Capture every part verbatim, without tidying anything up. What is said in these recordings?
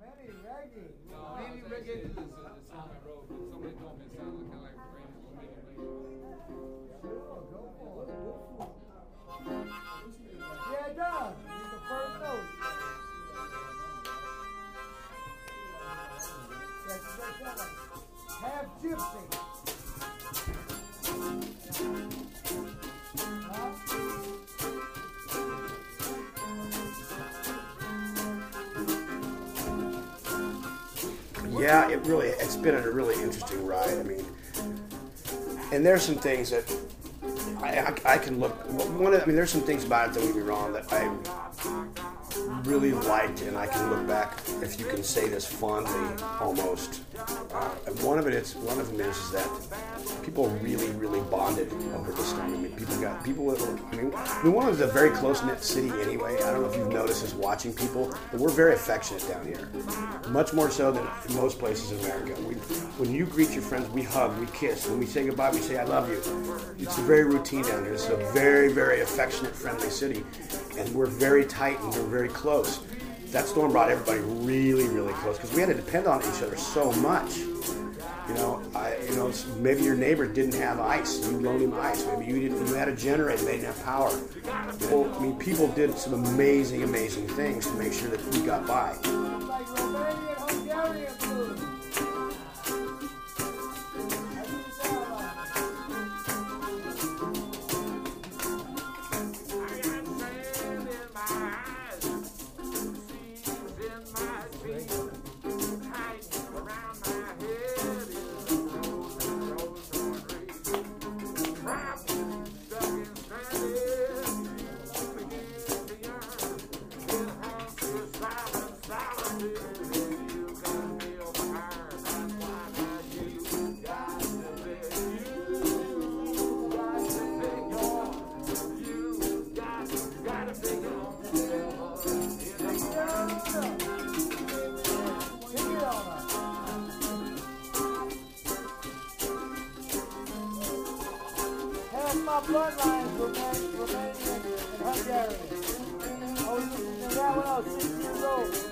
Many reggae. No, many reggae is the song I wrote, but somebody told me it sounded kind of like rain or maybe Sure, go for it. Yeah, it does. It's the first note. That's what it like. Half gypsy. Huh? Yeah, it really, it's been a really interesting ride. I mean, and there's some things that I, I, I can look, one of, I mean, there's some things about it, don't get me wrong, that I really liked, and I can look back, if you can say this fondly, almost. Uh, and one of it is, one of them is, is that people really, really bonded over this time. I mean, people got, people, were, I mean, I mean, one of a very close-knit city anyway. I don't know if you've noticed this watching people, but we're very affectionate down here. Much more so than in most places in America. We, when you greet your friends, we hug, we kiss. When we say goodbye, we say, I love you. It's very routine down here. It's a very, very affectionate, friendly city. And we're very tight and we're very close. That storm brought everybody really, really close because we had to depend on each other so much. You know, I, you know, maybe your neighbor didn't have ice. You loaned him ice. Maybe you didn't. You had a generator. They didn't have power. Well, I mean, people did some amazing, amazing things to make sure that we got by. Like Romanian Hungarian blues. My bloodline from Romania and Hungary. I was listening to that when I was six years old.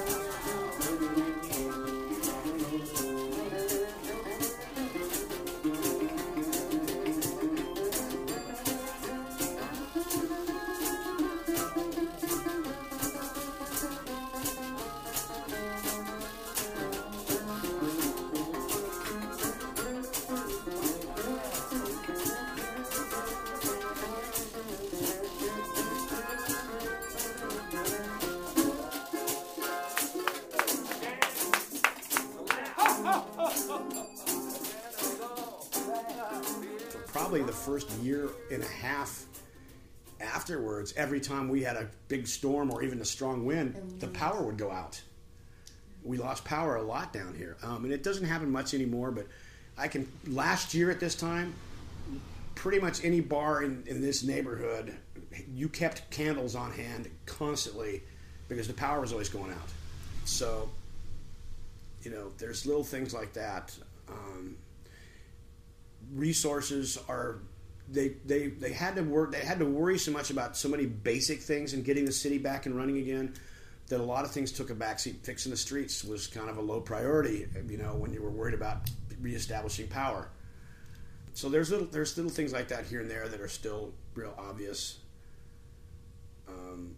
Probably the first year and a half afterwards, every time we had a big storm or even a strong wind, the power would go out. We lost power a lot down here. Um, and it doesn't happen much anymore, but I can, last year at this time, pretty much any bar in, in this neighborhood, you kept candles on hand constantly because the power was always going out. So, you know, there's little things like that. Um, resources are they they they had to work they had to worry so much about so many basic things and getting the city back and running again that a lot of things took a backseat. Fixing the streets was kind of a low priority, you know, when you were worried about reestablishing power. So there's little there's little things like that here and there that are still real obvious. um,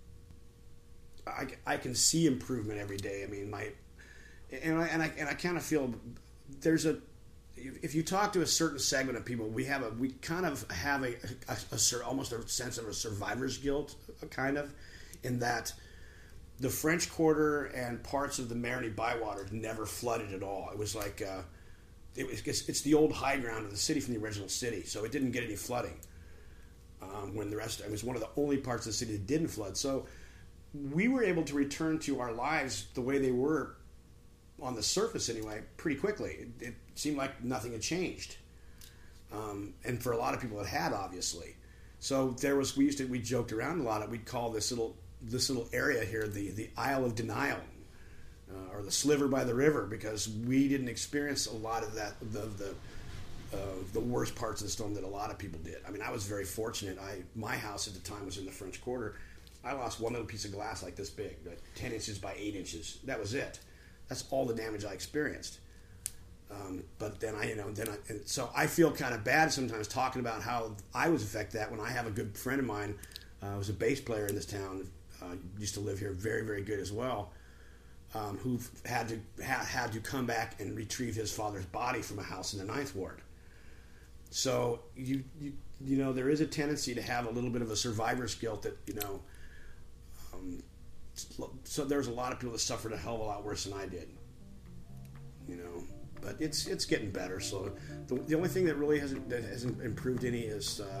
I, I can see improvement every day. I mean, my and I and I, and I kind of feel there's a if you talk to a certain segment of people, we have a we kind of have a, a, a almost a sense of a survivor's guilt, kind of, in that the French Quarter and parts of the Marigny Bywater never flooded at all. It was like uh, it was it's the old high ground of the city from the original city, so it didn't get any flooding. Um, when the rest it was one of the only parts of the city that didn't flood, so we were able to return to our lives the way they were on the surface anyway, pretty quickly. It, it seemed like nothing had changed. Um, and for a lot of people it had, obviously. So there was, we used to, we joked around a lot. We'd call this little, this little area here the, the Isle of Denial, uh, or the Sliver by the River, because we didn't experience a lot of that, the, the, uh, the worst parts of the storm that a lot of people did. I mean, I was very fortunate. I, my house at the time was in the French Quarter, I lost one little piece of glass like this big, like ten inches by eight inches. That was it. That's all the damage I experienced. Um, but then I, you know, then I, and so I feel kind of bad sometimes talking about how I was affected that when I have a good friend of mine, uh, who was a bass player in this town, uh, used to live here, very, very good as well, um, who had to ha, had to come back and retrieve his father's body from a house in the Ninth Ward. So you, you, you know, there is a tendency to have a little bit of a survivor's guilt that, you know, um, so there's a lot of people that suffered a hell of a lot worse than I did, you know. But it's it's getting better. So the, the only thing that really hasn't that hasn't improved any is uh,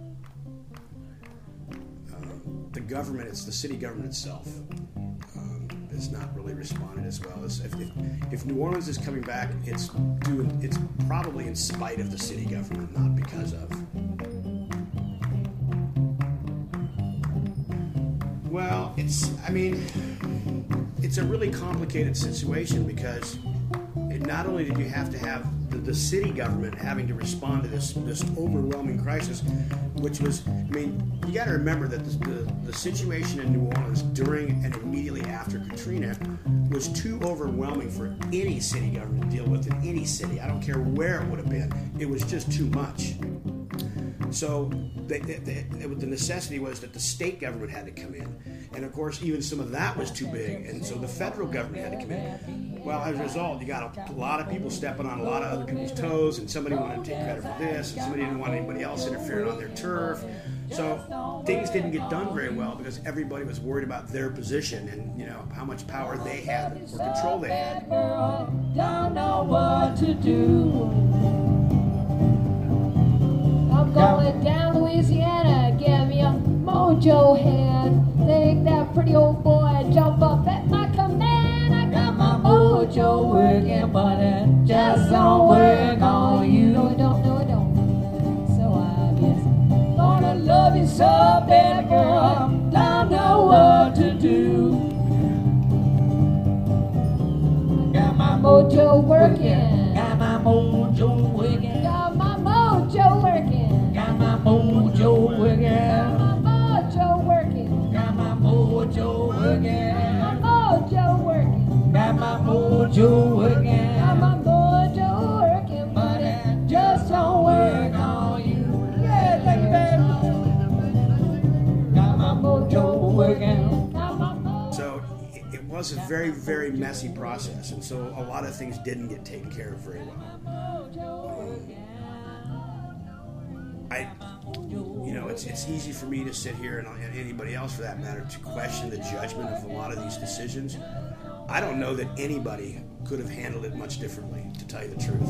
uh, the government. It's the city government itself um, has not really responded as well as if, if if New Orleans is coming back. It's doing it's probably in spite of the city government, not because of. Well, it's I mean it's a really complicated situation because. Not only did you have to have the, the city government having to respond to this this overwhelming crisis, which was, I mean, you got to remember that the, the, the situation in New Orleans during and immediately after Katrina was too overwhelming for any city government to deal with in any city. I don't care where it would have been. It was just too much. So the, the, the necessity was that the state government had to come in. And of course, even some of that was too big. And so the federal government had to come in. Well, as a result, you got a, a lot of people stepping on a lot of other people's toes, and somebody wanted to take credit for this, and somebody didn't want anybody else interfering on their turf. So things didn't get done very well because everybody was worried about their position and, you know, how much power they had or control they had. Don't know what to do. I'm going down Louisiana, give me a mojo hand. Think that pretty old boy jump up at my command. I got my mojo working, but it just don't work on you. No, it don't, no, it don't. So obvious. Gonna love you so, baby girl. Don't know what to do. Got my mojo working. Got my mojo working. Got my mojo working. Got my mojo working. Got my mojo working. Got my mojo working. Got my mojo working. Got my mojo working. Got my mojo working, but it just don't work on you. Yeah, thank you, baby. Got my mojo working. Got my mojo. So it, it was a very, very messy process, and so a lot of things didn't get taken care of very well. I, you know, it's it's easy for me to sit here and, and anybody else for that matter to question the judgment of a lot of these decisions. I don't know that anybody could have handled it much differently, to tell you the truth.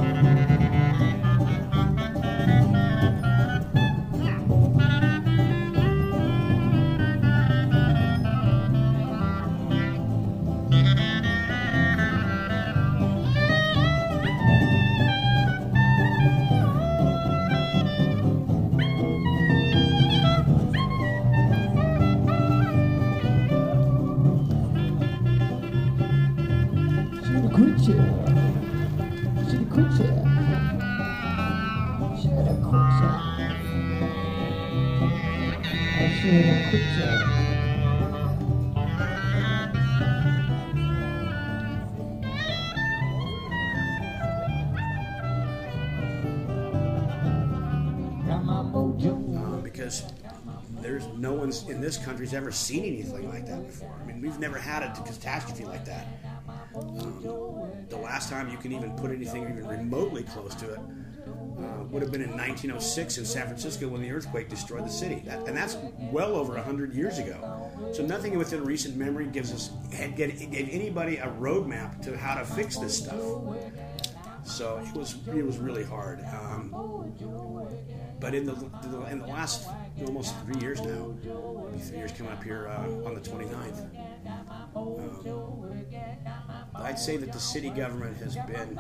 Because there's no one's in this country's ever seen anything like that before. I mean, we've never had a catastrophe like that. Um, the last time you can even put anything even remotely close to it uh, would have been in nineteen oh six in San Francisco when the earthquake destroyed the city. That, and that's well over one hundred years ago. So nothing within recent memory gives us gave anybody a roadmap to how to fix this stuff. So it was it was really hard. Um, but in the in the last almost three years now, three years coming up here uh, on the twenty-ninth, um, I'd say that the city government has been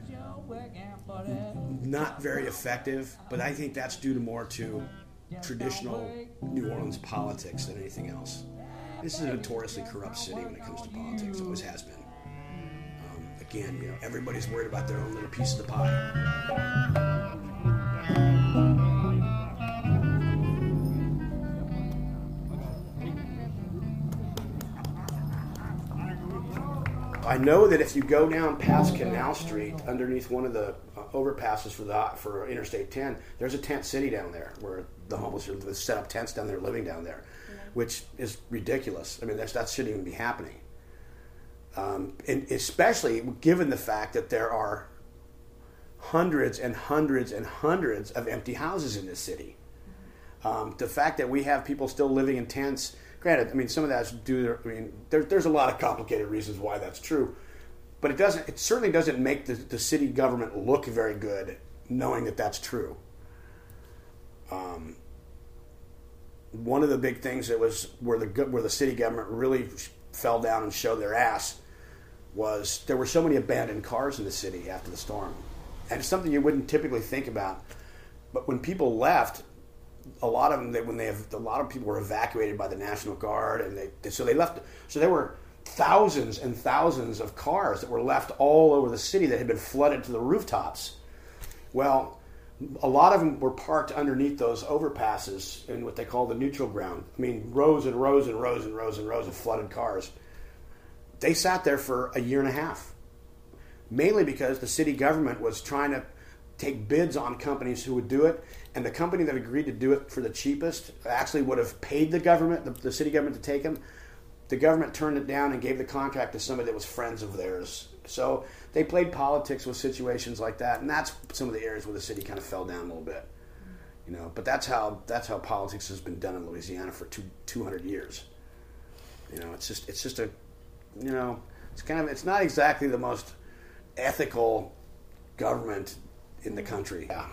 not very effective, but I think that's due to more to traditional New Orleans politics than anything else. This is a notoriously corrupt city when it comes to politics. It always has been. Um, again, you know, everybody's worried about their own little piece of the pie. I know that if you go down past Canal Street, underneath one of the uh, overpasses for the for Interstate ten, there's a tent city down there where the homeless are set up tents down there, living down there, which is ridiculous. I mean, that's, that shouldn't even be happening. Um, and especially given the fact that there are hundreds and hundreds and hundreds of empty houses in this city. Um, the fact that we have people still living in tents, granted, I mean, some of that's due to, I mean, there, there's a lot of complicated reasons why that's true, but it doesn't, it certainly doesn't make the, the city government look very good knowing that that's true. Um, one of the big things that was where the where the city government really fell down and showed their ass was there were so many abandoned cars in the city after the storm. And it's something you wouldn't typically think about. But when people left, a lot of them, they, when they have, a lot of people were evacuated by the National Guard, and they so they left. So there were thousands and thousands of cars that were left all over the city that had been flooded to the rooftops. Well, a lot of them were parked underneath those overpasses in what they call the neutral ground. I mean, rows and rows and rows and rows and rows of flooded cars. They sat there for a year and a half. Mainly because the city government was trying to take bids on companies who would do it, and the company that agreed to do it for the cheapest actually would have paid the government, the, the city government, to take them. The government turned it down and gave the contract to somebody that was friends of theirs. So they played politics with situations like that, and that's some of the areas where the city kind of fell down a little bit. You know, but that's how that's how politics has been done in Louisiana for two two hundred years. You know, it's just it's just a, you know, it's kind of it's not exactly the most ethical government in the country. Yeah.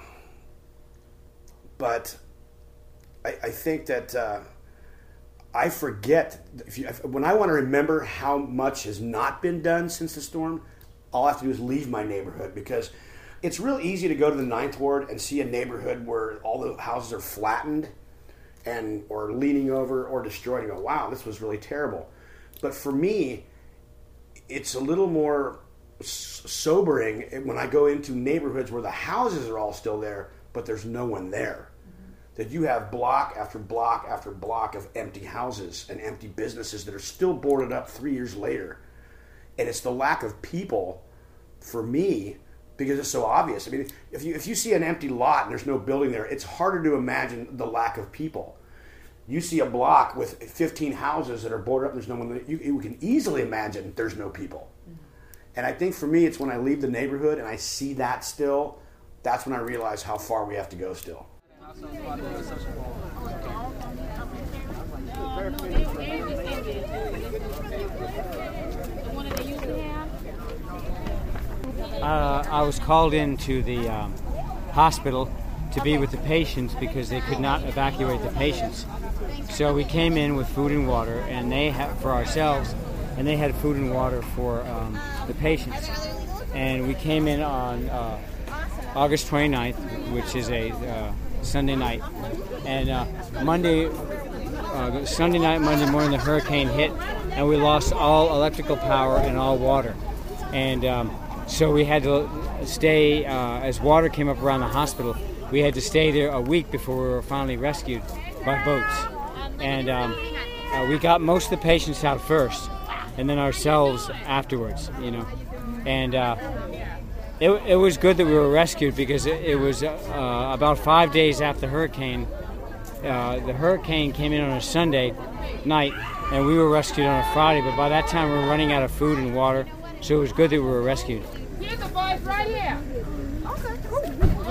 But I, I think that uh, I forget, if you, if, when I want to remember how much has not been done since the storm, all I have to do is leave my neighborhood, because it's real easy to go to the Ninth Ward and see a neighborhood where all the houses are flattened and or leaning over or destroyed and go, wow, this was really terrible. But for me, it's a little more sobering when I go into neighborhoods where the houses are all still there, but there's no one there. Mm-hmm. That you have block after block after block of empty houses and empty businesses that are still boarded up three years later. And it's the lack of people, for me, because it's so obvious. I mean, if you if you see an empty lot and there's no building there, it's harder to imagine the lack of people. You see a block with fifteen houses that are boarded up and there's no one, you, you can easily imagine there's no people. Mm-hmm. And I think for me, it's when I leave the neighborhood and I see that still, that's when I realize how far we have to go still. Uh, I was called into the um, hospital to be with the patients because they could not evacuate the patients. So we came in with food and water, and they had for ourselves, and they had food and water for um, the patients. And we came in on uh, August twenty-ninth, which is a uh, Sunday night. And uh, Monday, uh, Sunday night, Monday morning, the hurricane hit, and we lost all electrical power and all water. And um, so we had to stay, uh, as water came up around the hospital, we had to stay there a week before we were finally rescued by boats. And um, uh, we got most of the patients out first, and then ourselves afterwards, you know. And uh, it, it was good that we were rescued because it, it was uh, about five days after the hurricane. Uh, the hurricane came in on a Sunday night, and we were rescued on a Friday, but by that time we were running out of food and water, so it was good that we were rescued. Here's the boys right here. Okay, cool.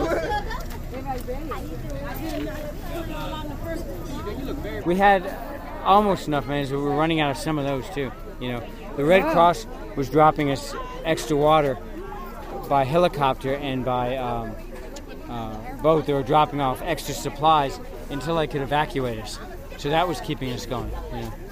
We had almost enough mayonnaise, but we were running out of some of those too. You know, the Red Cross was dropping us extra water by helicopter and by um, uh, boat. They were dropping off extra supplies until they could evacuate us. So that was keeping us going. You know.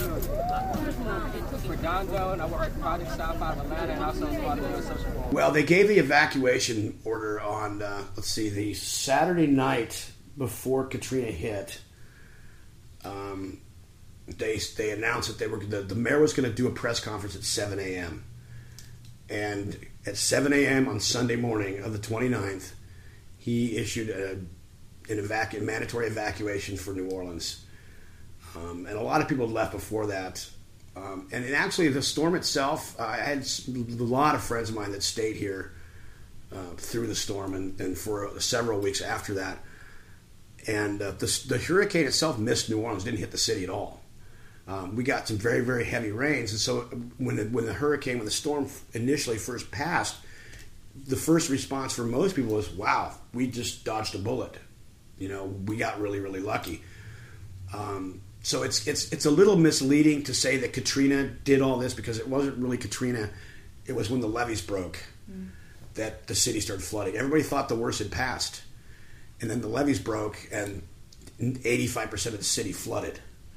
Well, they gave the evacuation order on, uh, let's see, the Saturday night before Katrina hit. Um, they they announced that they were the, the mayor was going to do a press conference at seven a.m. And at seven a.m. on Sunday morning of the twenty-ninth, he issued a, an evacu- mandatory evacuation for New Orleans. Um, and a lot of people had left before that. Um, and, and actually, the storm itself, uh, I had a lot of friends of mine that stayed here uh, through the storm and, and for several weeks after that. And uh, the, the hurricane itself missed New Orleans, didn't hit the city at all. Um, we got some very, very heavy rains. And so when the, when the hurricane, when the storm initially first passed, the first response for most people was, wow, we just dodged a bullet. You know, we got really, really lucky. Um, so it's it's it's a little misleading to say that Katrina did all this, because it wasn't really Katrina. It was when the levees broke mm. that the city started flooding. Everybody thought the worst had passed. And then the levees broke, and eighty-five percent of the city flooded,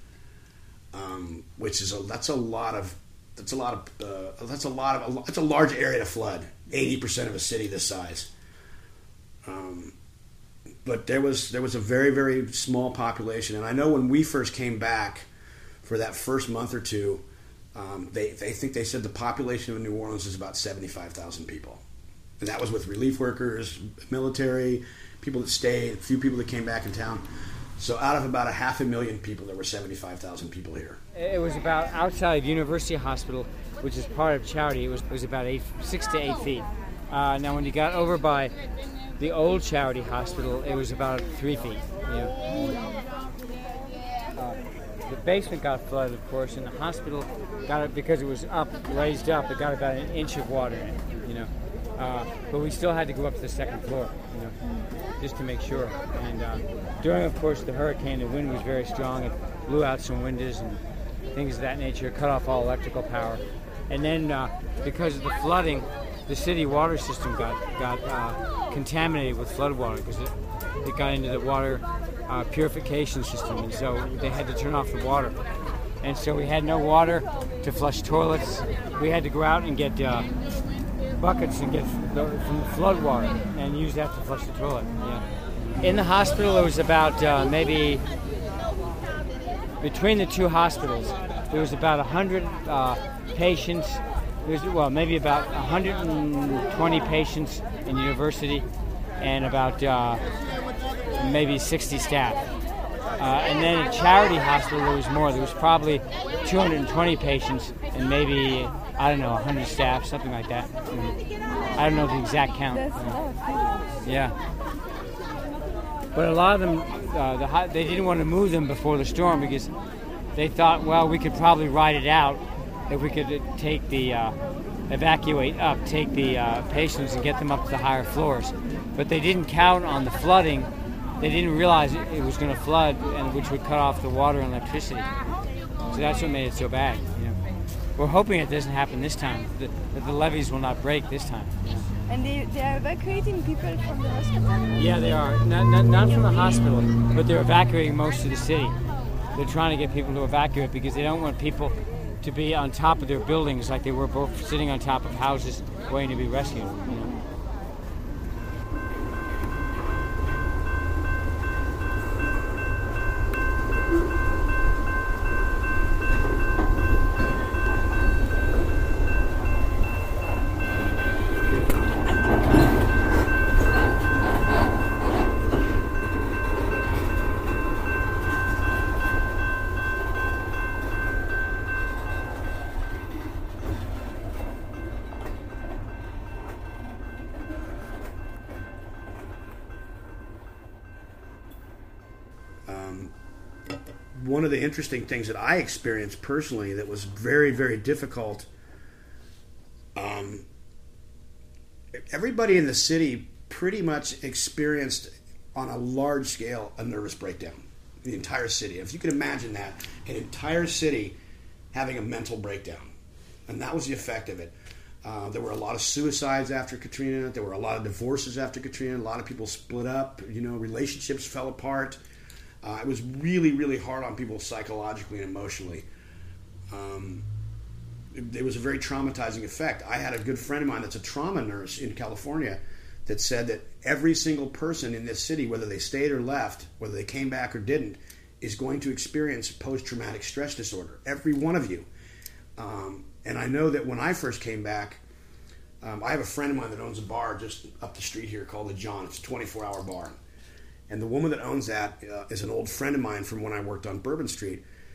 um, which is a that's a lot of that's a lot of uh, that's a lot of that's a large area to flood. Eighty percent of a city this size. Um, but there was there was a very very small population, and I know when we first came back for that first month or two, um, they they think they said the population of New Orleans is about seventy-five thousand people, and that was with relief workers, military. People that stayed, a few people that came back in town. So out of about a half a million people, there were seventy-five thousand people here. It was about outside of University Hospital, which is part of Charity. It was it was about eight, six to eight feet. Uh, now, when you got over by the old Charity Hospital, it was about three feet. You know. uh, the basement got flooded, of course, and the hospital got it because it was up, raised up. It got about an inch of water in it. You know. Uh, but we still had to go up to the second floor, you know, just to make sure. And uh, during, of course, the hurricane, the wind was very strong. It blew out some windows and things of that nature, cut off all electrical power. And then, uh, because of the flooding, the city water system got got uh, contaminated with flood water because it, it got into the water uh, purification system, and so they had to turn off the water. And so we had no water to flush toilets. We had to go out and get Uh, buckets and get the, from the flood water and use that to flush the toilet. Yeah. In the hospital, it was about uh, maybe between the two hospitals, there was about one hundred uh, patients. There was, well, maybe about one hundred twenty patients in university, and about uh, maybe sixty staff. Uh, and then at Charity Hospital, there was more. There was probably two hundred twenty patients and maybe, I don't know, one hundred staff, something like that. I don't know the exact count. Yeah. But a lot of them, uh, the, they didn't want to move them before the storm because they thought, well, we could probably ride it out if we could take the, uh, evacuate up, take the uh, patients and get them up to the higher floors. But they didn't count on the flooding. They didn't realize it, it was going to flood, and which would cut off the water and electricity. So that's what made it so bad. You know. We're hoping it doesn't happen this time, that, that the levees will not break this time. You know. And they, they are evacuating people from the hospital? Yeah, they are. Not, not, not from the hospital, but they're evacuating most of the city. They're trying to get people to evacuate because they don't want people to be on top of their buildings like they were both sitting on top of houses waiting to be rescued. You know. One of the interesting things that I experienced personally that was very, very difficult, um, everybody in the city pretty much experienced on a large scale a nervous breakdown. The entire city. If you can imagine that, an entire city having a mental breakdown. And that was the effect of it. Uh, there were a lot of suicides after Katrina. There were a lot of divorces after Katrina. A lot of people split up. You know, relationships fell apart. Uh, it was really, really hard on people psychologically and emotionally. Um, it, it was a very traumatizing effect. I had a good friend of mine that's a trauma nurse in California that said that every single person in this city, whether they stayed or left, whether they came back or didn't, is going to experience post-traumatic stress disorder. Every one of you. Um, and I know that when I first came back, um, I have a friend of mine that owns a bar just up the street here called the John. It's a twenty-four hour bar. And the woman that owns that uh, is an old friend of mine from when I worked on Bourbon Street.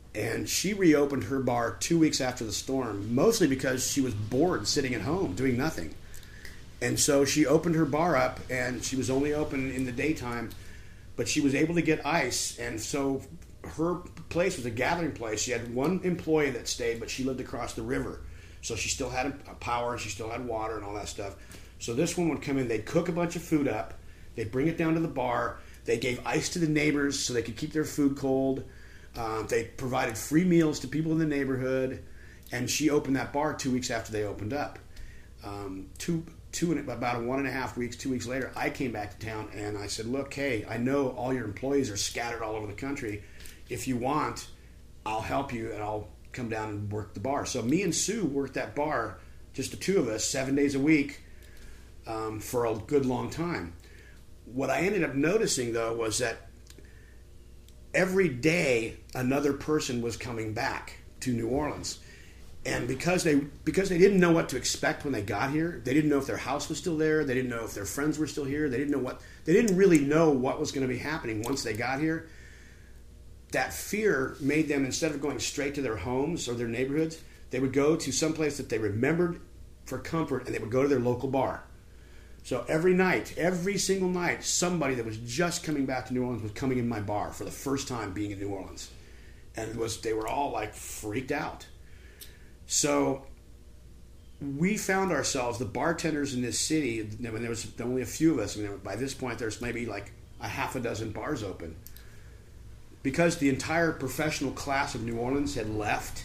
And she reopened her bar two weeks after the storm, mostly because she was bored sitting at home doing nothing. And so she opened her bar up, and she was only open in the daytime, but she was able to get ice. And so her place was a gathering place. She had one employee that stayed, but she lived across the river. So she still had a power, and she still had water and all that stuff. So this one would come in, they'd cook a bunch of food up, they'd bring it down to the bar, they gave ice to the neighbors so they could keep their food cold. Um, they provided free meals to people in the neighborhood, and she opened that bar two weeks after they opened up. Um, two, two and about a one and a half weeks, two weeks later, I came back to town and I said, "Look, hey, I know all your employees are scattered all over the country. If you want, I'll help you and I'll come down and work the bar." So me and Sue worked that bar, just the two of us, seven days a week, um, for a good long time. What I ended up noticing, though, was that every day another person was coming back to New Orleans. And because they because they didn't know what to expect when they got here, they didn't know if their house was still there, they didn't know if their friends were still here, they didn't know what they didn't really know what was going to be happening once they got here. That fear made them, instead of going straight to their homes or their neighborhoods, they would go to some place that they remembered for comfort, and they would go to their local bar. So every night, every single night, somebody that was just coming back to New Orleans was coming in my bar for the first time being in New Orleans. And it was they were all like freaked out. So we found ourselves, the bartenders in this city, when there was only a few of us, I mean, by this point there's maybe like a half a dozen bars open. Because the entire professional class of New Orleans had left,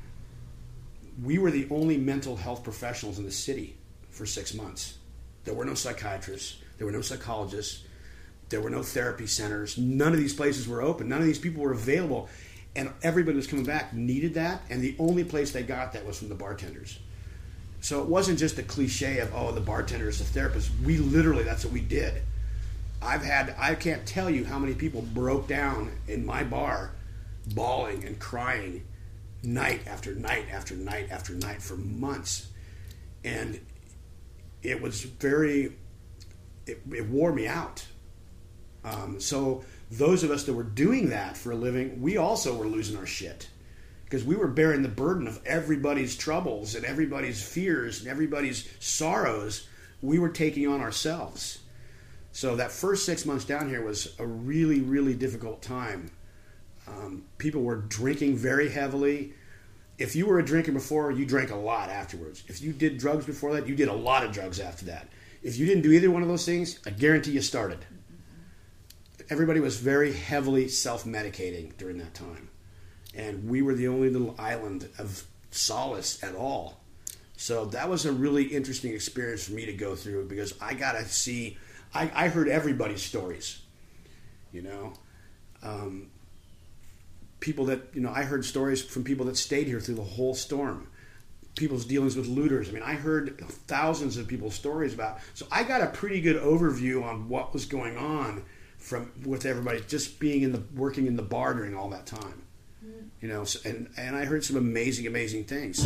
we were the only mental health professionals in the city for six months. There were no psychiatrists. There were no psychologists. There were no therapy centers. None of these places were open. None of these people were available. And everybody was coming back needed that, and the only place they got that was from the bartenders. So it wasn't just a cliche of, oh, the bartender is the therapist. We literally, that's what we did. I've had, I can't tell you how many people broke down in my bar bawling and crying night after night after night after night for months. And it was very, it, it wore me out. Um, so those of us that were doing that for a living, we also were losing our shit. Because we were bearing the burden of everybody's troubles and everybody's fears and everybody's sorrows. We were taking on ourselves. So that first six months down here was a really, really difficult time. Um, people were drinking very heavily. If you were a drinker before, you drank a lot afterwards. If you did drugs before that, you did a lot of drugs after that. If you didn't do either one of those things, I guarantee you started. Everybody was very heavily self-medicating during that time. And we were the only little island of solace at all. So that was a really interesting experience for me to go through, because I got to see, I, I heard everybody's stories, you know. Um, people that, you know, I heard stories from people that stayed here through the whole storm. People's dealings with looters. I mean, I heard thousands of people's stories about. So I got a pretty good overview on what was going on from with everybody just being in the working in the bar during all that time. Mm. You know, so, and and I heard some amazing, amazing things.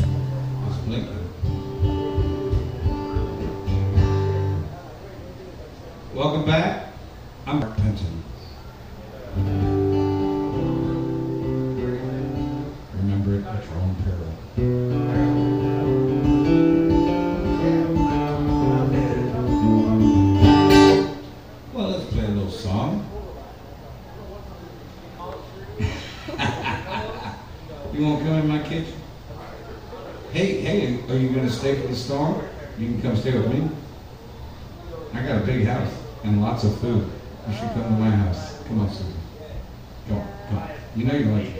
Welcome back. I'm Mark Penton. Remember it at your own peril. Well, let's play a little song. You want to come in my kitchen? Hey, hey, are you going to stay for the storm? You can come stay with me. I got a big house and lots of food. You should come to my house. Come on, Susan. Come on, come on. You know you like it.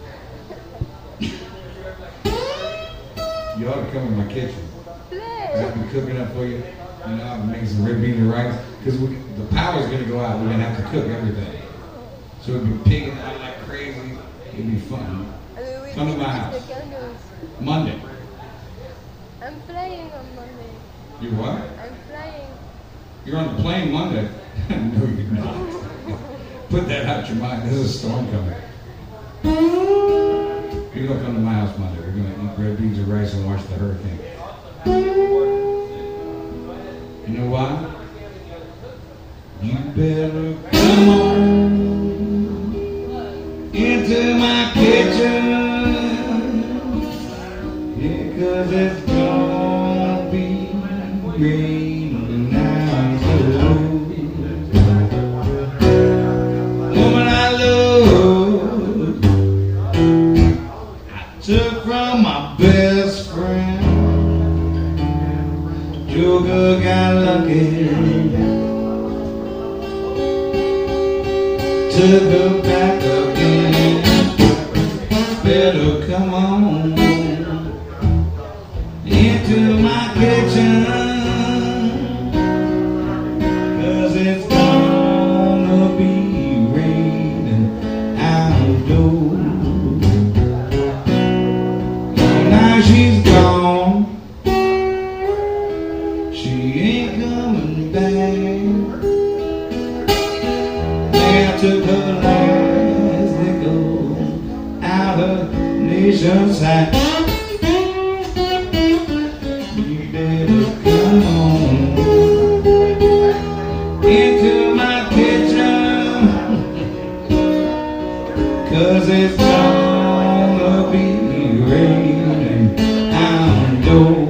You ought to come in my kitchen. I've been cooking up for you. You know, I've been making some red beans and rice. Because the power's going to go out. We're going to have to cook everything. So it'd be pigging out like crazy. It'd be fun. Come to my house. Monday. I'm flying on Monday. You what? I'm flying. You're on the plane Monday? No, you're not. Put that out your mind. There's a storm coming. You're going to come to my house Monday. We're going to eat red beans and rice and watch the hurricane. You know why? You better come on into my kitchen. Yeah, 'cause it's gonna be raining now. Woman I love, I took from my best friend. Joker got lucky, took her back again. Better come on into my kitchen, 'cause it's gonna be raining outdoors. Now she's gone, she ain't coming back. They took her last nickel out of nation's sight. You better come on into my kitchen, 'cause it's gonna be raining outdoors.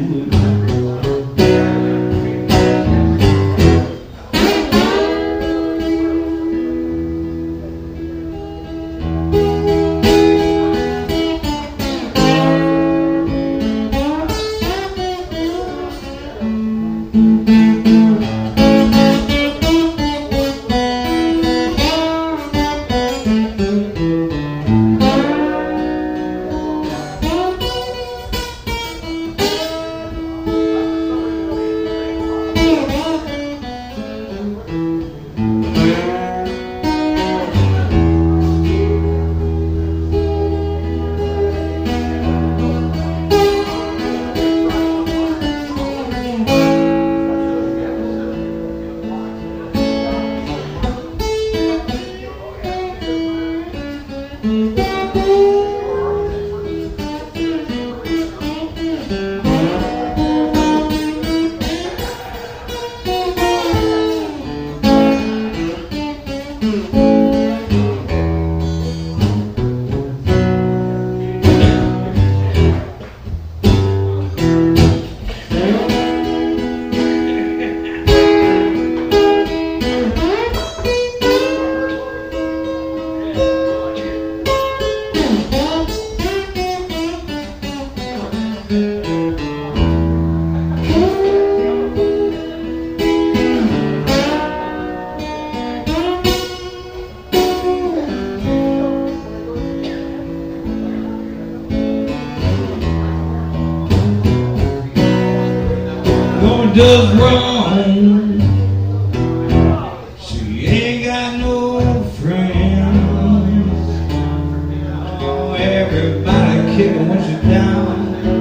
Does wrong, she ain't got no friends. Oh, everybody kicking when she's down,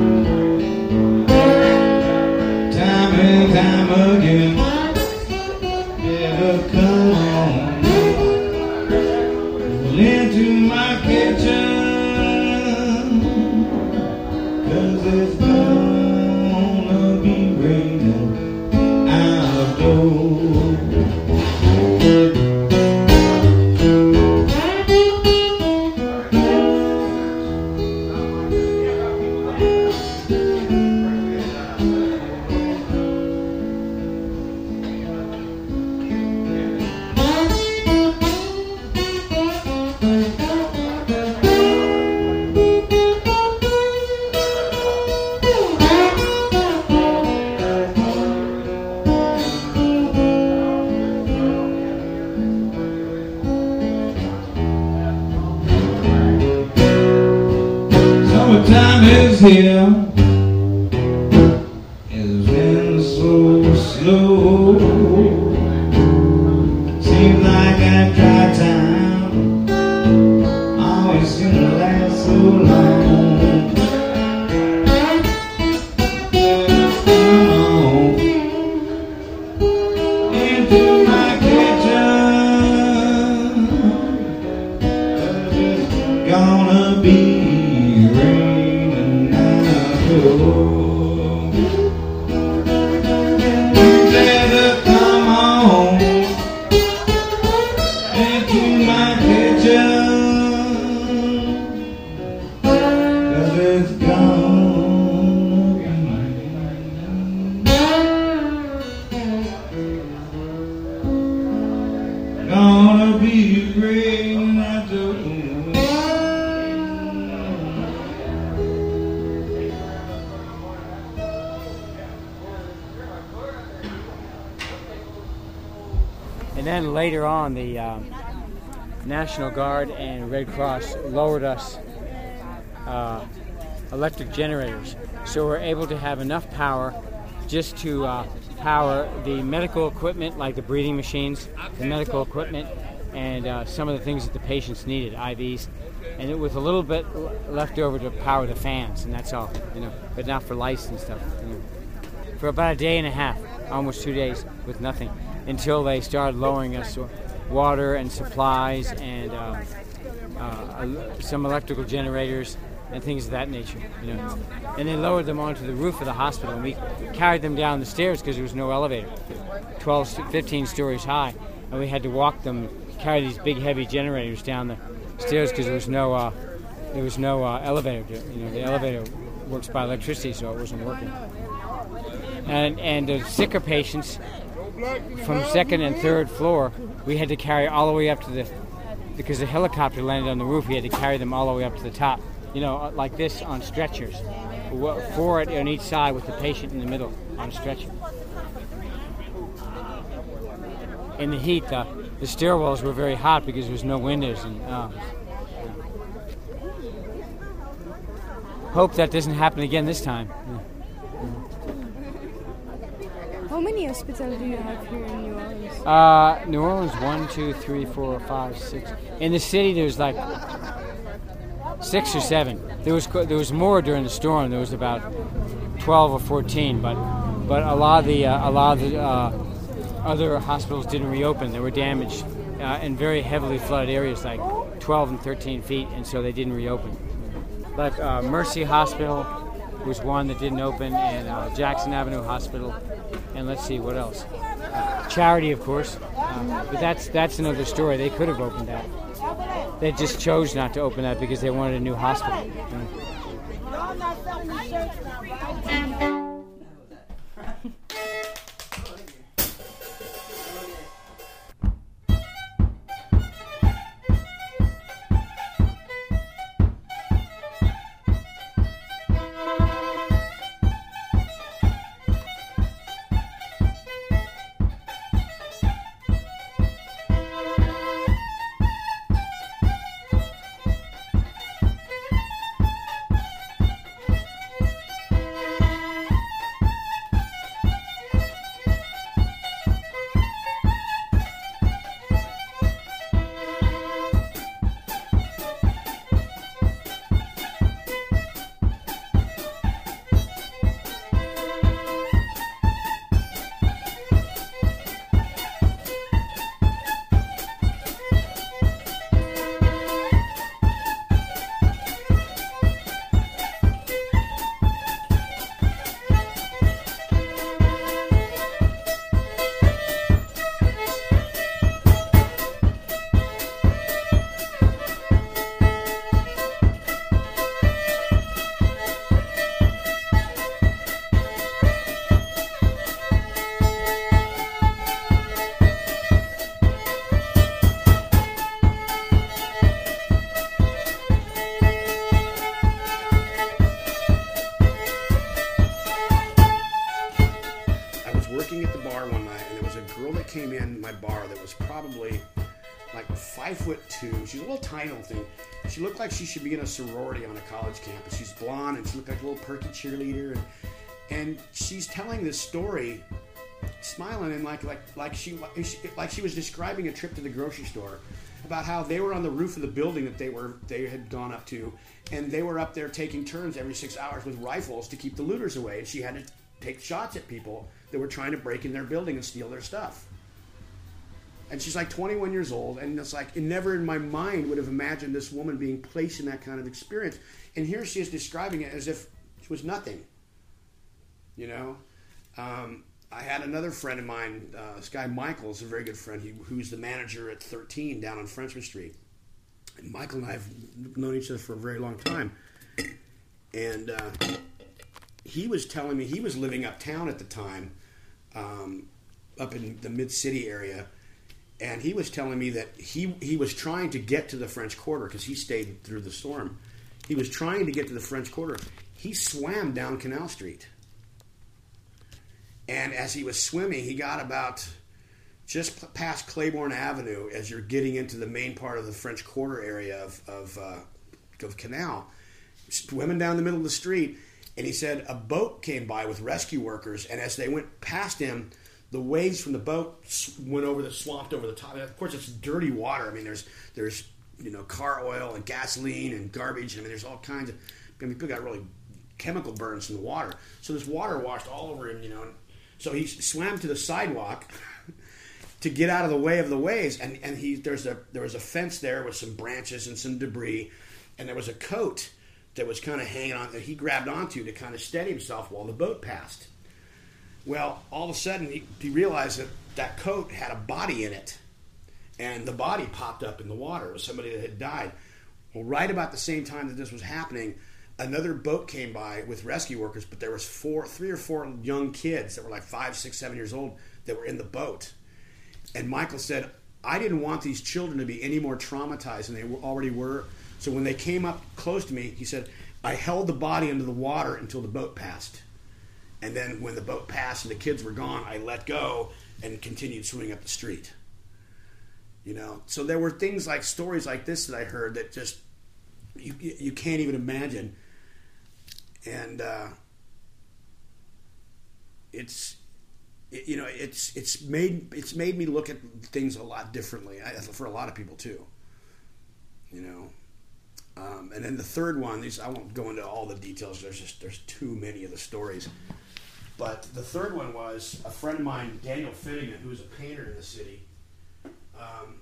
time and time again. Better come on into my kitchen, 'cause it's gonna be raining outdoors. Summertime is here, it's been so slow. Seems like a dry time, always seems to last so long. Come on into my kitchen, 'cause it's gonna be raining now. And then later on, the um, National Guard and Red Cross lowered us uh, electric generators. So we're able to have enough power just to uh, power the medical equipment, like the breathing machines, the medical equipment, and uh, some of the things that the patients needed, I Vs, and it, with a little bit left over to power the fans, and that's all, you know, but not for lights and stuff. You know. For about a day and a half, almost two days, with nothing, until they started lowering us water and supplies and uh, uh, some electrical generators and things of that nature, you know. And they lowered them onto the roof of the hospital, and we carried them down the stairs because there was no elevator, twelve, fifteen stories high, and we had to walk them, carry these big heavy generators down the stairs because there was no uh, there was no uh, elevator. You know, the elevator works by electricity, so it wasn't working. And and the sicker patients from second and third floor, we had to carry all the way up to the, because the helicopter landed on the roof, we had to carry them all the way up to the top. You know, like this on stretchers, four on each side with the patient in the middle on a stretcher. In the heat, the, the stairwells were very hot because there was no windows. And uh, hope that doesn't happen again this time. How many hospitals do you have here in New Orleans? Uh, New Orleans, one, two, three, four, five, six. In the city, there's like six or seven. There was there was more during the storm. There was about twelve or fourteen, but but a lot of the uh, a lot of the uh, other hospitals didn't reopen. They were damaged uh, in very heavily flooded areas, like twelve and thirteen feet, and so they didn't reopen. Like uh, Mercy Hospital was one that didn't open, and uh, Jackson Avenue Hospital, and let's see what else. Uh, Charity, of course, uh, but that's that's another story. They could have opened that. They just chose not to open that because they wanted a new hospital. Came in my bar that was probably like five foot two. She's a little tiny little thing. She looked like she should be in a sorority on a college campus. She's blonde and she looked like a little perky cheerleader, and and she's telling this story, smiling and like like like she like she was describing a trip to the grocery store, about how they were on the roof of the building that they were they had gone up to, and they were up there taking turns every six hours with rifles to keep the looters away, and she had to take shots at people that were trying to break in their building and steal their stuff. And she's like twenty-one years old, and it's like, it never in my mind would have imagined this woman being placed in that kind of experience. And here she is describing it as if it was nothing. You know? Um, I had another friend of mine, uh, this guy Michael, is a very good friend, he, who's the manager at thirteen down on Frenchman Street. And Michael and I have known each other for a very long time. And uh, he was telling me, he was living uptown at the time, um, up in the mid-city area. And he was telling me that he he was trying to get to the French Quarter because he stayed through the storm. He was trying to get to the French Quarter. He swam down Canal Street. And as he was swimming, he got about just p- past Claiborne Avenue, as you're getting into the main part of the French Quarter area of of, uh, of Canal, swimming down the middle of the street. And he said a boat came by with rescue workers, and as they went past him, the waves from the boat went over the swamped over the top. And of course, it's dirty water. I mean, there's there's you know car oil and gasoline and garbage. I mean, there's all kinds of. I mean, people got really chemical burns from the water. So this water washed all over him. You know, so he swam to the sidewalk to get out of the way of the waves. And and he there's a there was a fence there with some branches and some debris, and there was a coat that was kind of hanging on that he grabbed onto to kind of steady himself while the boat passed. Well, all of a sudden, he, he realized that that coat had a body in it, and the body popped up in the water. It was somebody that had died. Well, right about the same time that this was happening, another boat came by with rescue workers, but there was four, three or four young kids that were like five, six, seven years old that were in the boat. And Michael said, I didn't want these children to be any more traumatized than they already were. So when they came up close to me, he said, I held the body under the water until the boat passed. And then when the boat passed and the kids were gone, I let go and continued swimming up the street. You know, so there were things like stories like this that I heard that just you you can't even imagine. And uh, it's it, you know it's it's made it's made me look at things a lot differently I, for a lot of people too. You know. Um, and then the third one, these I won't go into all the details. There's just there's too many of the stories. But the third one was a friend of mine, Daniel Finnegan, who was a painter in the city. Um,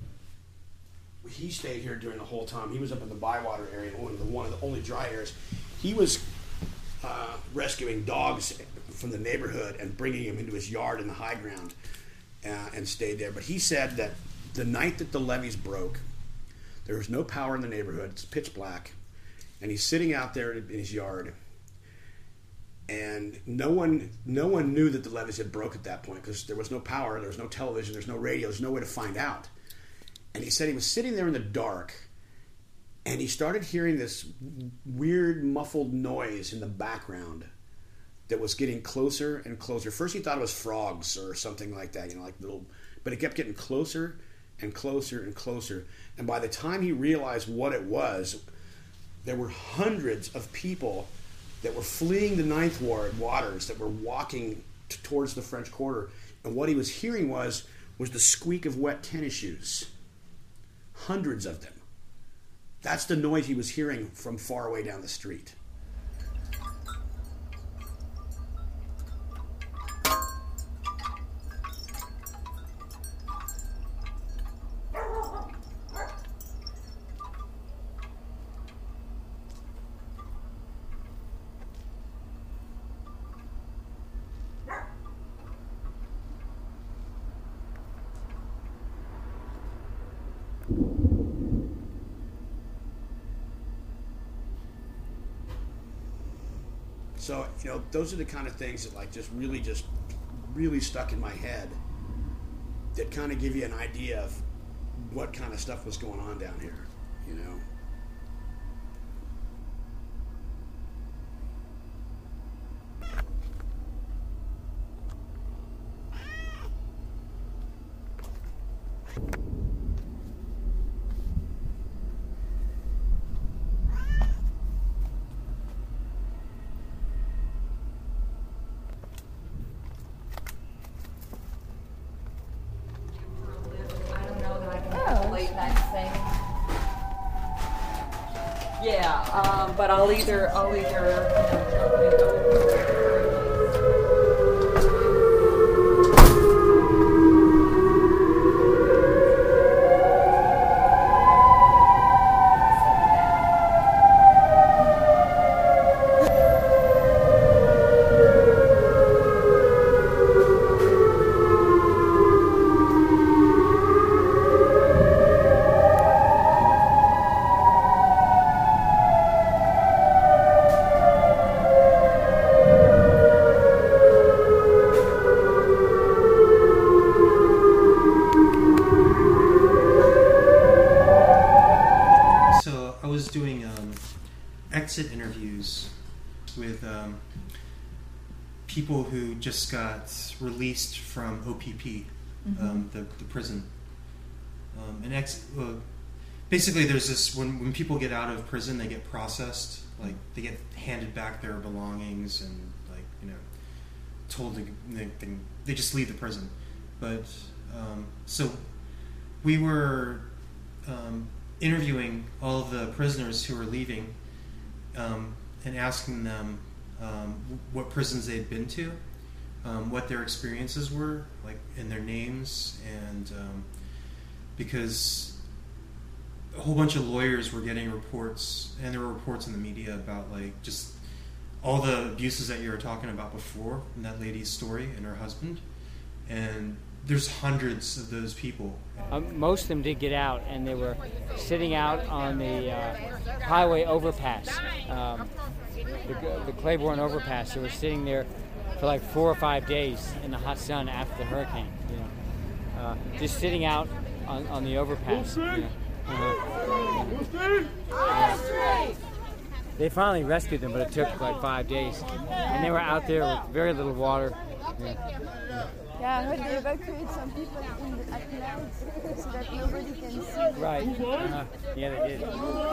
he stayed here during the whole time. He was up in the Bywater area, one of the one of the only dry areas. He was uh, rescuing dogs from the neighborhood and bringing them into his yard in the high ground, uh, and stayed there. But he said that the night that the levees broke, there was no power in the neighborhood. It's pitch black. And he's sitting out there in his yard. And no one no one knew that the levees had broke at that point because there was no power, there was no television, there's no radio, there's no way to find out. And he said he was sitting there in the dark, and he started hearing this weird muffled noise in the background that was getting closer and closer. First he thought it was frogs or something like that, you know, like little, but it kept getting closer and closer and closer. And by the time he realized what it was, there were hundreds of people that were fleeing the Ninth Ward waters, that were walking t- towards the French Quarter. And what he was hearing was, was the squeak of wet tennis shoes. Hundreds of them. That's the noise he was hearing from far away down the street. So, you know, those are the kind of things that like just really just really stuck in my head that kind of give you an idea of what kind of stuff was going on down here, you know. Yeah, um, but I'll either, I'll either. exit interviews with um, people who just got released from O P P. mm-hmm. um, the the prison. Um, and ex, uh, basically, there's this when when people get out of prison, they get processed. Like they get handed back their belongings and like you know told to they can, they just leave the prison. But um, so we were um, interviewing all of the prisoners who were leaving um, and asking them um, what prisons they'd been to, um, what their experiences were, like and their names, and um, because a whole bunch of lawyers were getting reports, and there were reports in the media about like just all the abuses that you were talking about before in that lady's story and her husband, and there's hundreds of those people. Um, most of them did get out, and they were sitting out on the uh, highway overpass, um, the, the Claiborne overpass. They were sitting there for like four or five days in the hot sun after the hurricane. You know, uh, just sitting out on, on the overpass. You know. Uh-huh. Uh, they finally rescued them, but it took like five days, and they were out there with very little water. Yeah. Yeah, I heard they evacuated some people in the, at night so that nobody can see them. Right. Uh-huh. Yeah, they did.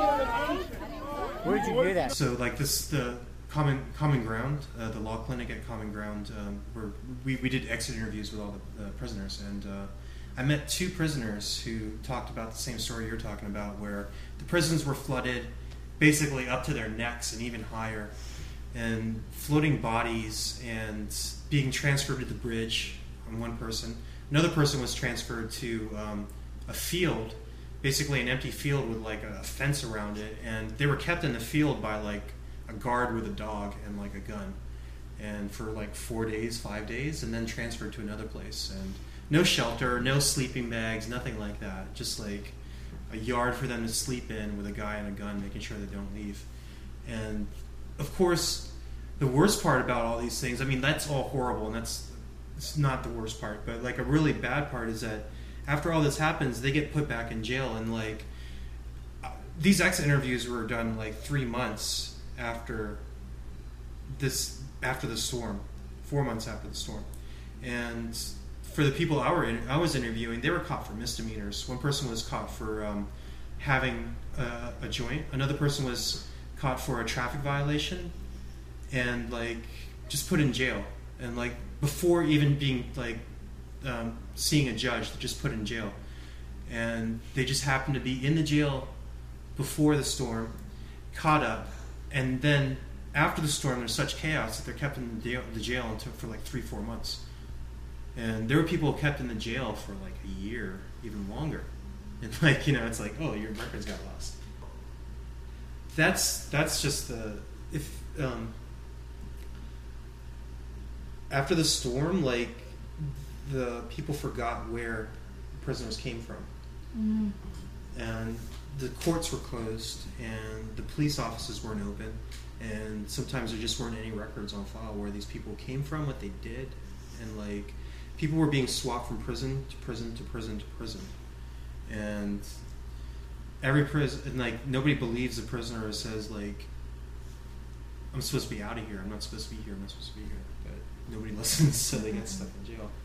Where did you hear that? So, like this, the Common Common Ground, uh, the law clinic at Common Ground, um, where we, we did exit interviews with all the uh, prisoners, and uh, I met two prisoners who talked about the same story you're talking about, where the prisons were flooded basically up to their necks and even higher, and floating bodies and being transferred to the bridge on one person. Another person was transferred to um, a field, basically an empty field with like a fence around it, and they were kept in the field by like a guard with a dog and like a gun, and for like four days, five days, and then transferred to another place. And no shelter, no sleeping bags, nothing like that. Just like a yard for them to sleep in with a guy and a gun, making sure they don't leave. And of course, the worst part about all these things, I mean, that's all horrible, and that's it's not the worst part, but like a really bad part is that after all this happens, they get put back in jail, and like these exit interviews were done like three months after this, after the storm, four months after the storm, and for the people I were in, I was interviewing, they were caught for misdemeanors. One person was caught for um, having a, a joint. Another person was caught for a traffic violation, and like just put in jail. And like before even being like um, seeing a judge, they just put in jail. And they just happened to be in the jail before the storm, caught up, and then after the storm, there's such chaos that they're kept in the jail, the jail until for like three, four months. And there were people kept in the jail for like a year, even longer. And like, you know, it's like, oh, your records got lost. That's that's just the if um, after the storm, like the people forgot where prisoners came from, mm. and the courts were closed, and the police offices weren't open, and sometimes there just weren't any records on file where these people came from, what they did, and like people were being swapped from prison to prison to prison to prison, and every prison, and like nobody believes the prisoner says like, I'm supposed to be out of here, I'm not supposed to be here, I'm not supposed to be here, but nobody listens, so they get stuck in jail.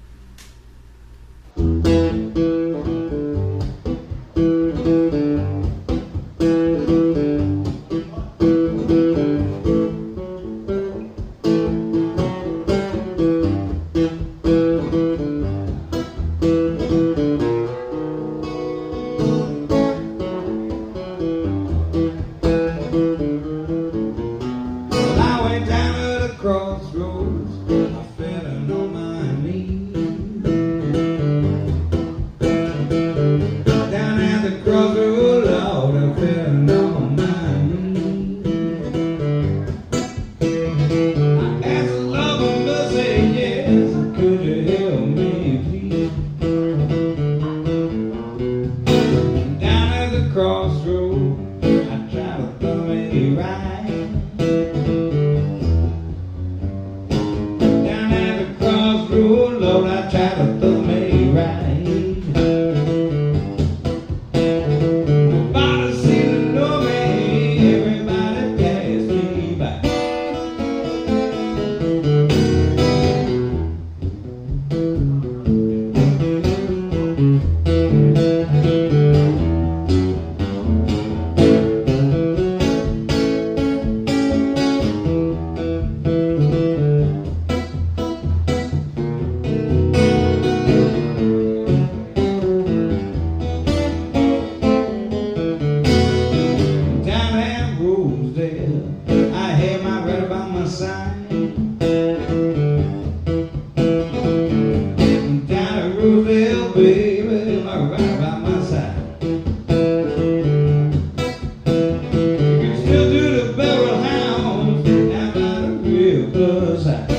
other side.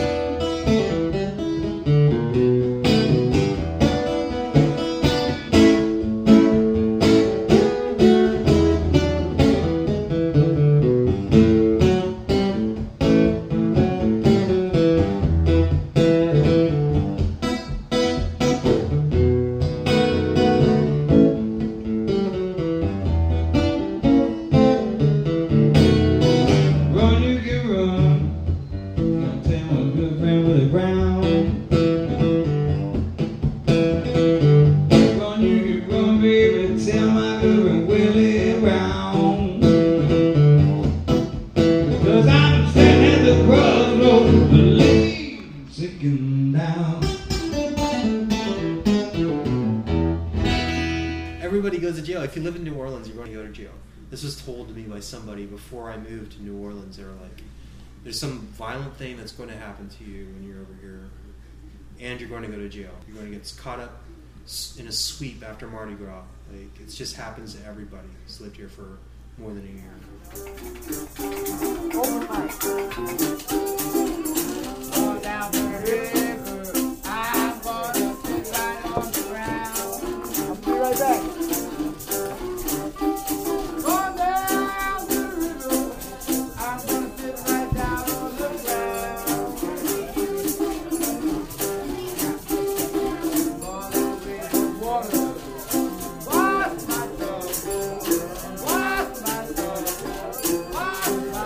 Everybody goes to jail. If you live in New Orleans, you're going to go to jail. This was told to me by somebody before I moved to New Orleans. They were like, there's some violent thing that's going to happen to you when you're over here, and you're going to go to jail. You're going to get caught up in a sweep after Mardi Gras. Like, it just happens to everybody who's lived here for more than a year. Overnight. Go down the river. I'm gonna sit right on the ground. I'll be right back. Go down the river. I'm gonna sit right down on the ground. Gonna be the water. Wash my dog. Wash my dog. Wash my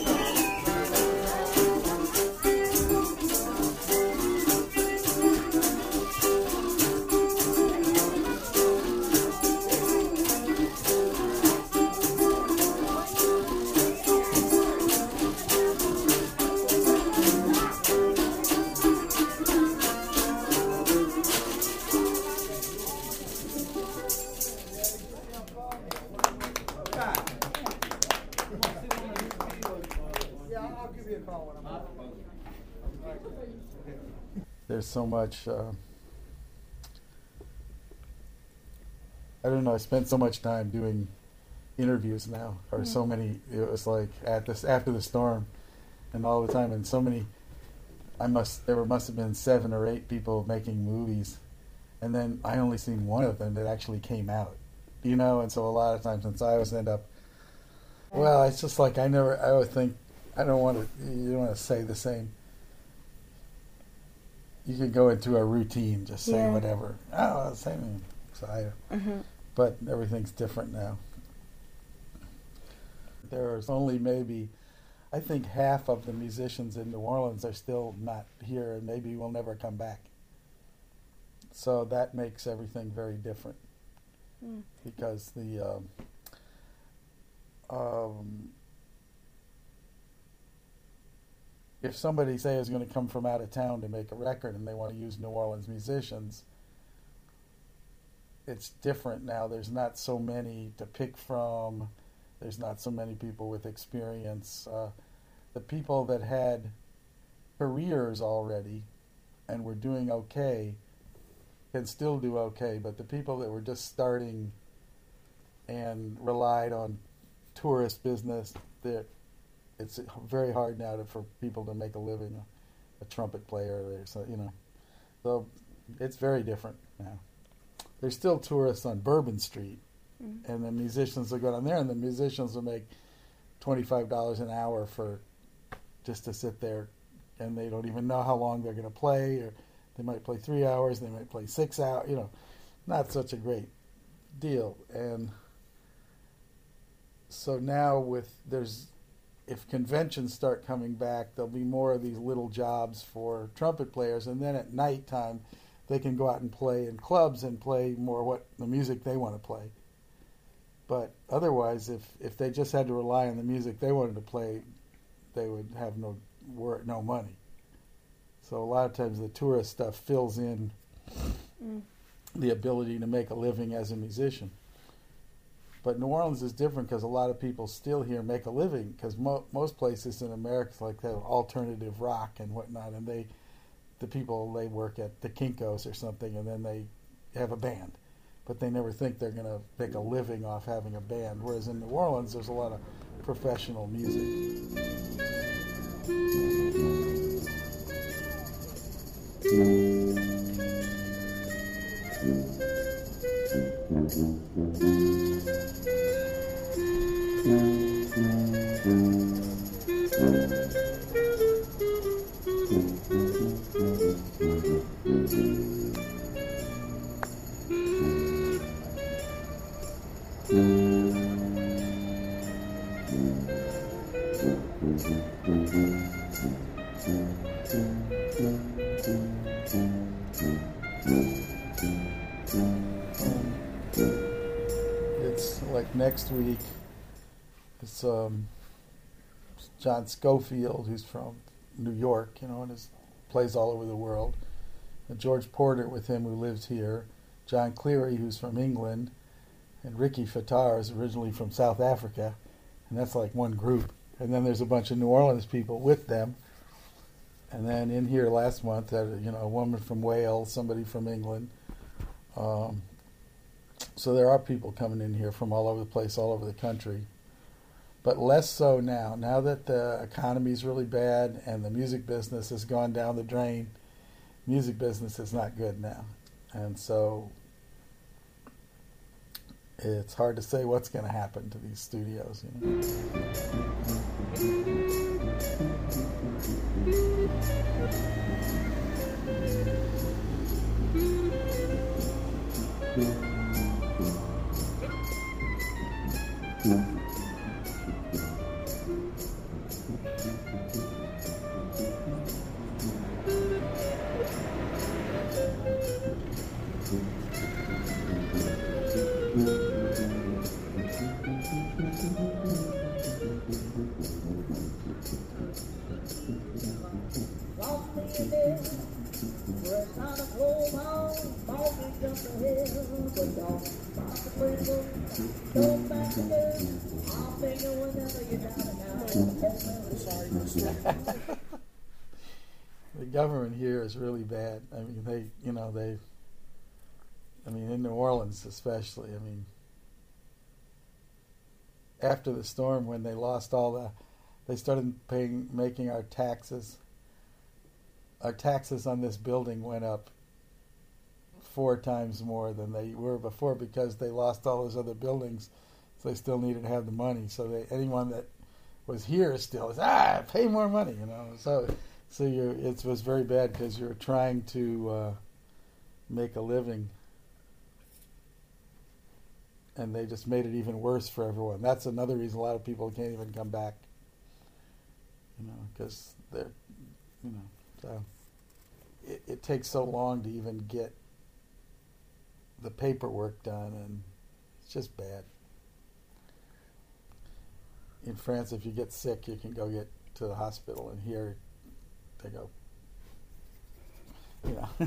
There's so much, uh, I don't know, I spent so much time doing interviews now, or mm. so many, it was like at this, after the storm, and all the time, and so many, I must, there must have been seven or eight people making movies, and then I only seen one of them that actually came out, you know, and so a lot of times since I always end up, well, it's just like I never, I always think, I don't want to, you don't want to say the same. You can go into a routine, just say yeah. whatever. Oh, same. So I, mm-hmm. But everything's different now. There's only maybe, I think half of the musicians in New Orleans are still not here and maybe will never come back. So that makes everything very different. Mm. Because the, um, um, if somebody, say, is going to come from out of town to make a record and they want to use New Orleans musicians, it's different now. There's not so many to pick from. There's not so many people with experience. Uh, the people that had careers already and were doing okay can still do okay, but the people that were just starting and relied on tourist business, they're it's very hard now to, for people to make a living, a, a trumpet player, or so, you know. So it's very different now. There's still tourists on Bourbon Street, mm-hmm. and the musicians will go down there, and the musicians will make twenty-five dollars an hour for just to sit there, and they don't even know how long they're going to play, or they might play three hours, they might play six hours, you know. Not such a great deal. And so now with, there's, if conventions start coming back, there'll be more of these little jobs for trumpet players, and then at nighttime they can go out and play in clubs and play more what the music they want to play. But otherwise, if, if they just had to rely on the music they wanted to play, they would have no work, no money. So a lot of times the tourist stuff fills in mm. the ability to make a living as a musician. But New Orleans is different because a lot of people still here make a living, because mo- most places in America like have alternative rock and whatnot, and they, the people, they work at the Kinko's or something, and then they have a band. But they never think they're going to make a living off having a band. Whereas in New Orleans, there's a lot of professional music. It's like next week. It's um, John Schofield, who's from New York, you know, and is, plays all over the world. And George Porter with him, who lives here. John Cleary, who's from England. And Ricky Fattar is originally from South Africa. And that's like one group. And then there's a bunch of New Orleans people with them. And then in here last month, uh, you know, a woman from Wales, somebody from England. Um, so there are people coming in here from all over the place, all over the country. But less so now. Now that the economy is really bad and the music business has gone down the drain, music business is not good now. And so it's hard to say what's going to happen to these studios. You know? The government here is really bad. I mean, they, you know, they, I mean, in New Orleans especially, I mean, after the storm, when they lost all the, they started paying, making our taxes, our taxes on this building went up four times more than they were before because they lost all those other buildings, so they still needed to have the money. So they, anyone that was here still is, ah, pay more money, you know. So, so you, it was very bad because you're trying to uh, make a living, and they just made it even worse for everyone. That's another reason a lot of people can't even come back, you know, because they're, you know, so it, it takes so long to even get the paperwork done, and it's just bad. In France, if you get sick, you can go get to the hospital, and here they go, you know.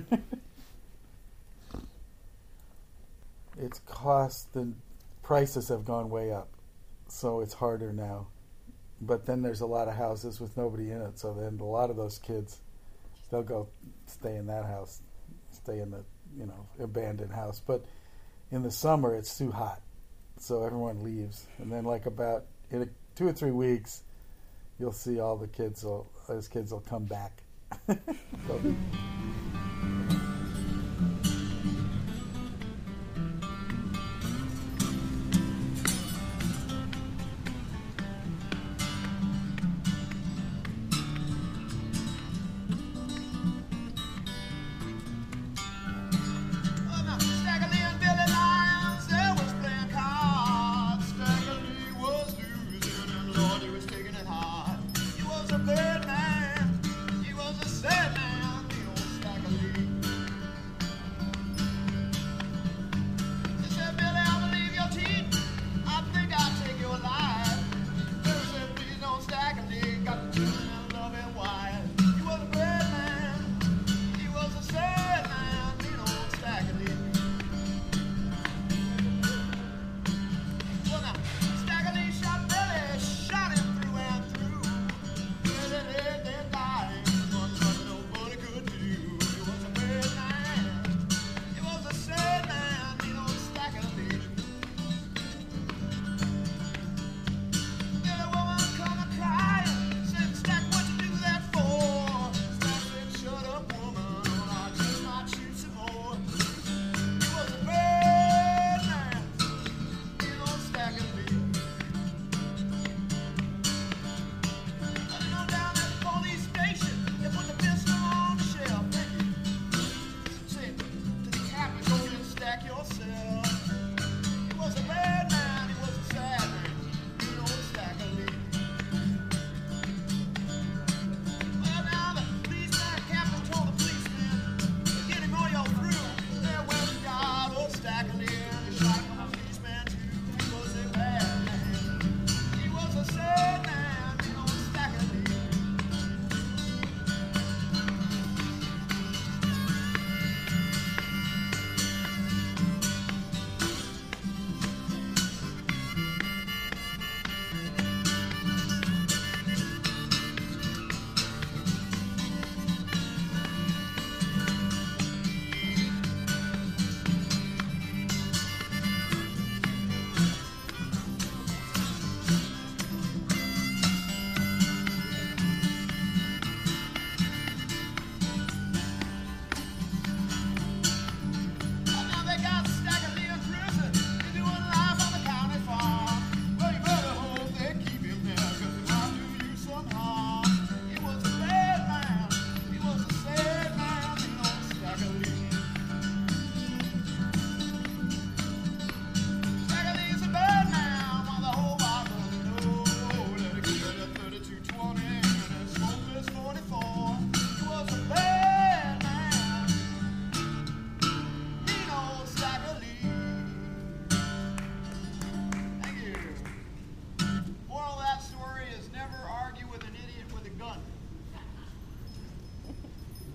It's cost, the prices have gone way up, so it's harder now. But then there's a lot of houses with nobody in it, so then a lot of those kids, they'll go stay in that house, stay in the, you know, abandoned house. But in the summer, it's too hot, so everyone leaves. And then, like about in a, two or three weeks, you'll see all the kids will, those kids will come back. So, He was a bad man, he was a sad man, the old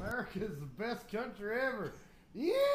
America is the best country ever. Yeah!